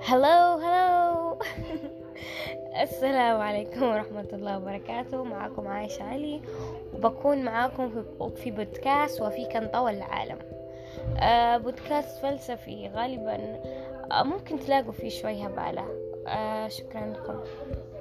هلو السلام عليكم ورحمة الله وبركاته. معكم عايشة علي، وبكون معاكم في بودكاست وفي كان طول العالم. بودكاست فلسفي غالبا. ممكن تلاقوا فيه شوية هبالة. شكرا لكم.